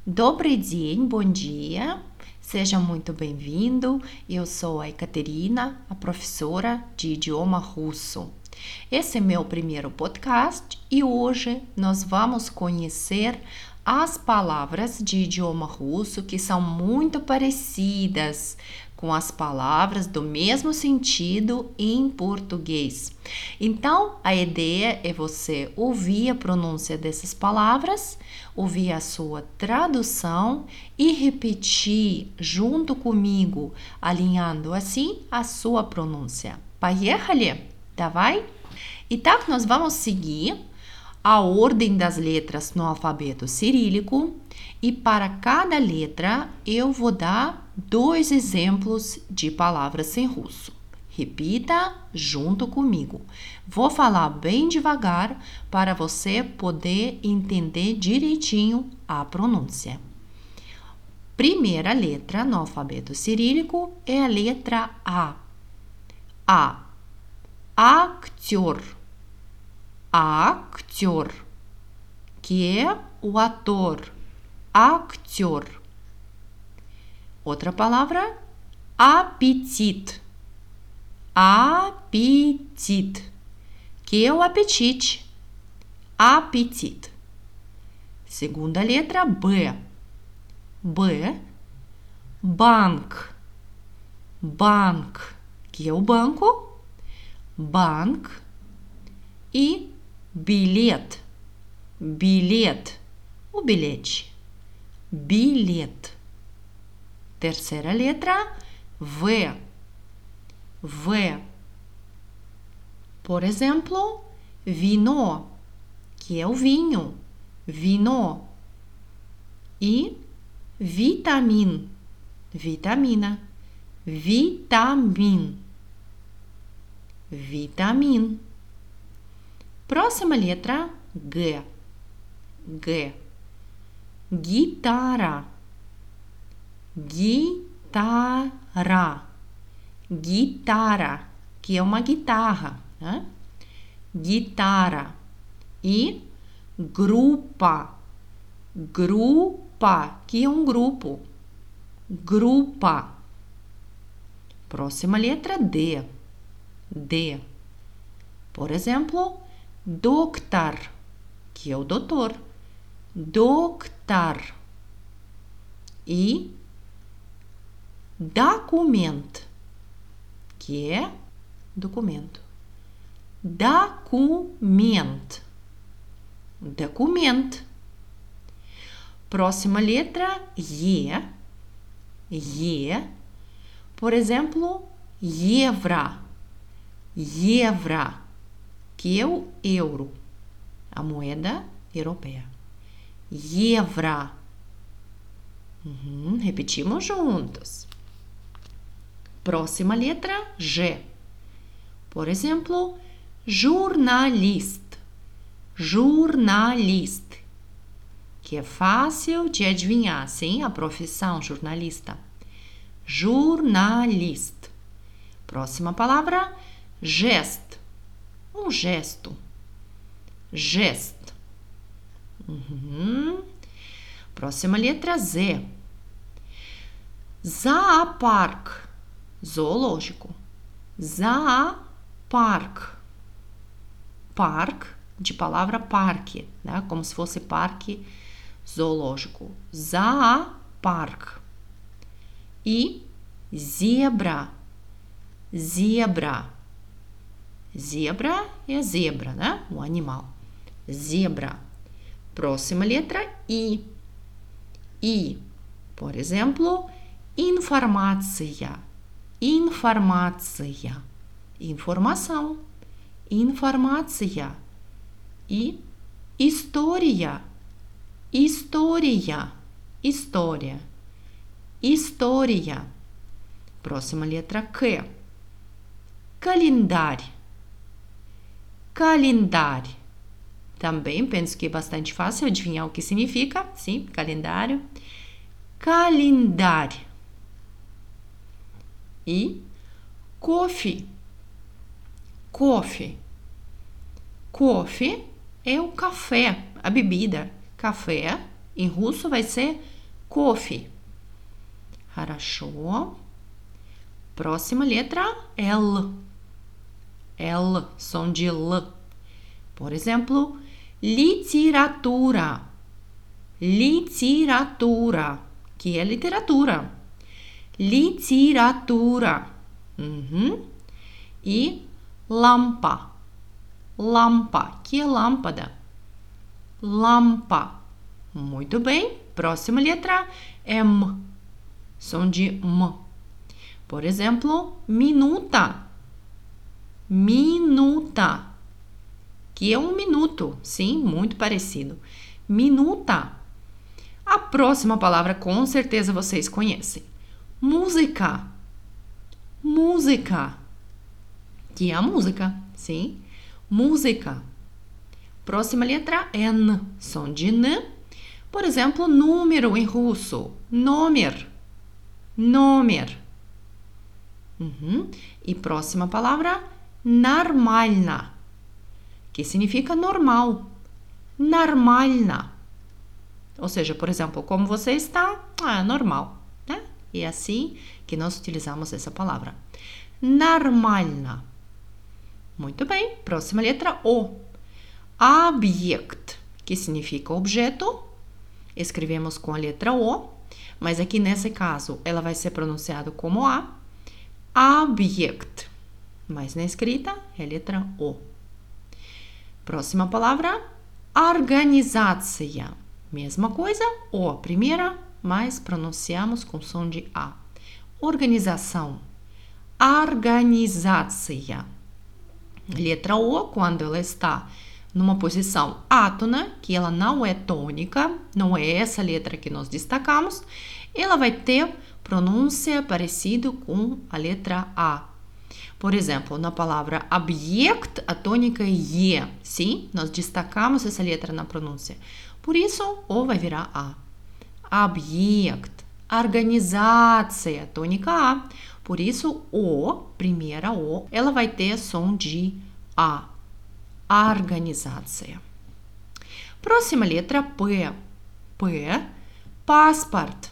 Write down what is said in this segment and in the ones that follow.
Добрый день, bom dia. Seja muito bem-vindo. Eu sou a Ekaterina, a professora de idioma russo. Esse é meu primeiro podcast e hoje nós vamos conhecer as palavras de idioma russo que são muito parecidas com as palavras do mesmo sentido em português. Então, a ideia é você ouvir a pronúncia dessas palavras, ouvir a sua tradução e repetir junto comigo, alinhando assim a sua pronúncia. Поехали? Давай? Итак, nós vamos seguir a ordem das letras no alfabeto cirílico e para cada letra eu vou dar 2 exemplos de palavras em russo. Repita junto comigo. Vou falar bem devagar para você poder entender direitinho a pronúncia. Primeira letra no alfabeto cirílico é a letra A. A. Actor. Actor, que é o ator. Actor. Outra palavra, apetite. Apetite, que é o apetite. Apetite. Segunda letra, B. B. Bank. Bank, que é o banco. Bank. E bilhete. Bilhete, o bilhete. Bilhete. Terceira letra, V. V. Por exemplo, vino, que é o vinho. Vino. E vitamin. Vitamina. Vitamin. Vitamin. Próxima letra, G. G. Guitarra. Guitarra. Guitarra, que é uma guitarra, né? Guitarra. E grupa. Grupa, que é um grupo. Grupa. Próxima letra, D. D. Por exemplo, doctor, que é o doutor. Doctor. E document, que é documento. Document. Document. Próxima letra, E. E. Por exemplo, евро. Евро, que é o euro, a moeda europeia. Евро. Repetimos juntos. Próxima letra, G. Por exemplo, jornalist. Jornalist, que é fácil de adivinhar, sim? A profissão jornalista. Jornalist. Próxima palavra, gesto. Um gesto. Gesto. Próxima letra, Z. Zoopark. Zoológico. Zoopark. Park, de palavra parque, né? Como se fosse parque zoológico. Zoopark. E zebra. Zebra. Zebra é zebra, né? O animal. Zebra. Próxima letra, I. I. Por exemplo, informaция. Informaция. Informação. Informaция. E história. História. História. História. Próxima letra, Q. Calendário. Calendário. Também penso que é bastante fácil adivinhar o que significa. Sim, calendário. Calendário. E coffee. Coffee. Coffee é o café, a bebida. Café, em russo vai ser Кофе. Хорошо. Próxima letra, L. L, som de L. Por exemplo, literatura. Literatura, que é literatura. Literatura. E lampa. Lampa, que é lâmpada. Lampa. Muito bem. Próxima letra, M. Som de M. Por exemplo, minuta. Minuta, que é um minuto. Sim, muito parecido. Minuta. A próxima palavra, com certeza, vocês conhecem. Música. Música, que é a música. Sim, música. Próxima letra, N. Som de N. Por exemplo, número em russo. Номер. Номер. E próxima palavra, нормально, que significa normal. Нормально. Ou seja, por exemplo, como você está? Normal, né? E é assim que nós utilizamos essa palavra. Нормально. Muito bem. Próxima letra, O. Объект, que significa objeto. Escrevemos com a letra O, mas aqui nesse caso ela vai ser pronunciada como A. Объект. Mas na escrita é a letra O. Próxima palavra, organizaция. Mesma coisa, O a primeira, mas pronunciamos com som de A. Organização. Organizaция. Letra O, quando ela está numa posição átona, que ela não é tônica, não é essa letra que nós destacamos, ela vai ter pronúncia parecida com a letra A. Por exemplo, na palavra объект, a tônica é E, sim? Nós destacamos essa letra na pronúncia. Por isso, O vai virar A. Объект. Organizaция, tônica A. Por isso, O, primeira O, ela vai ter som de A. Organizaция. Próxima letra, P. P, passport.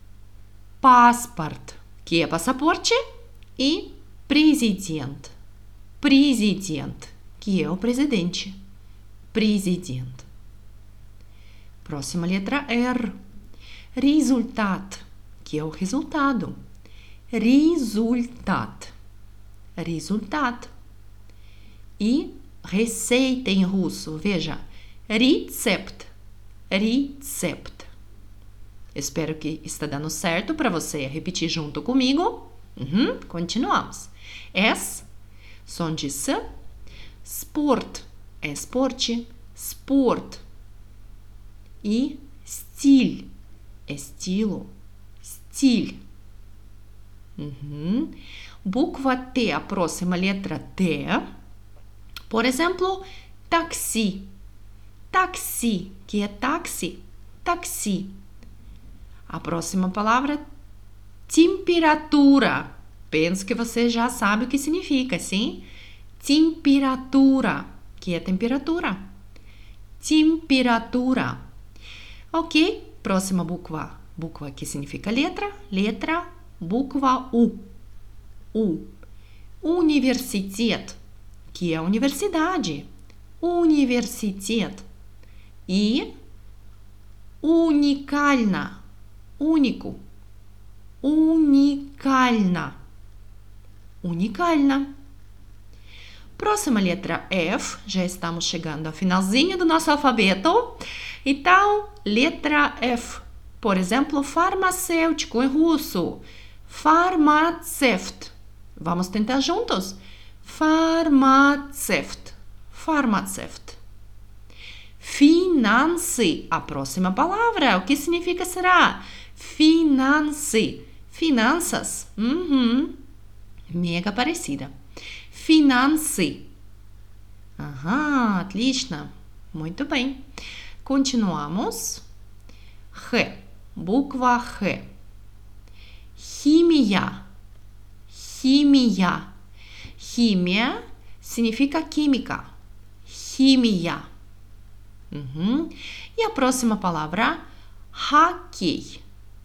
Passport, que é passaporte, e presidente. Presidente, que é o presidente. Presidente. Próxima letra, R. Resultat, que é o resultado. Resultat. Resultat. E receita em russo, veja, recept. Recept. Espero que está dando certo para você repetir junto comigo. Continuamos. S, som de S. Sport, é esporte. Sport. E stil, é estilo. Stil. Bukva T, a próxima letra T. Por exemplo, taxi. Taxi, que é táxi. Taxi. A próxima palavra, temperatura. Penso que você já sabe o que significa, sim? Temperatura, que é temperatura. Temperatura. Ok, próxima bukva. Bukva que significa letra. Letra, bukva U. U. Universitet, que é universidade. Universitet. E уникально. Único. Уникально. Уникально. Próxima letra F. Já estamos chegando ao finalzinho do nosso alfabeto. Então, letra F. Por exemplo, farmacêutico em russo. Farmacevt. Vamos tentar juntos? Farmacevt. Farmacevt. Finanças. A próxima palavra. O que significa será? Finanças. Finanças. Mega parecida. Finanças. Отлично. Muito bem. Continuamos. Х. Bukva Х. Химия. Химия. Химия significa química. Химия. E a próxima palavra, hockey.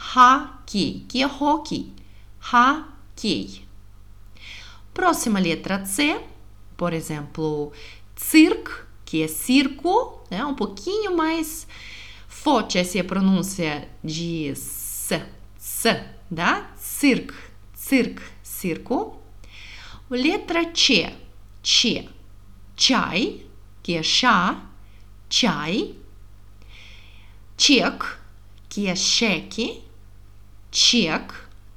Hockey, que é hockey. Hockey. Próxima letra C, por exemplo, circo, que é circo, né? Um pouquinho mais forte essa pronúncia de S, tá? Circo, circo. Letra C, chai, que é chá, chai. Check, que é cheque, check.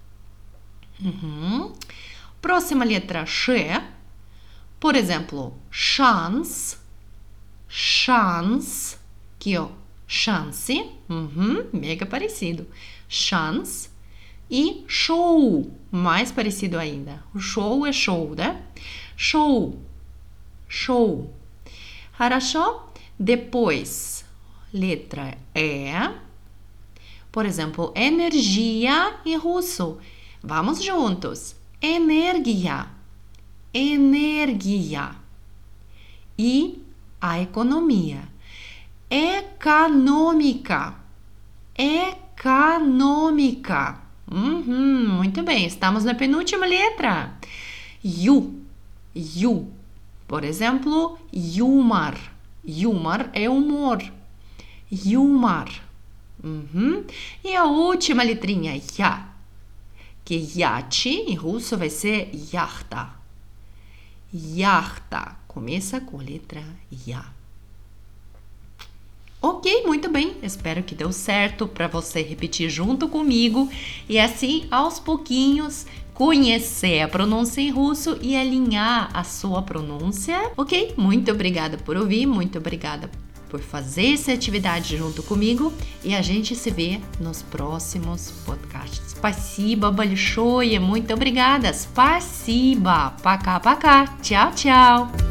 Próxima letra Ш, por exemplo, chance, que é chance, mega parecido, chance. E show, mais parecido ainda. O show é show, né? Show. Хорошо? Depois, letra E. Por exemplo, energia em russo. Vamos juntos. Energia. E a economia. Econômica. Muito bem, estamos na penúltima letra. You. Por exemplo, humor. Humor é humor. Humor. E a última letrinha, ya. Que iate em russo vai ser yachta. Começa com a letra ya. Ok, muito bem. Espero que deu certo para você repetir junto comigo e assim, aos pouquinhos, conhecer a pronúncia em russo e alinhar a sua pronúncia. Ok? Muito obrigada por ouvir, muito obrigada por fazer essa atividade junto comigo e a gente se vê nos próximos podcasts. Спасибо большое, muito obrigada. Спасибо. Пока. Tchau.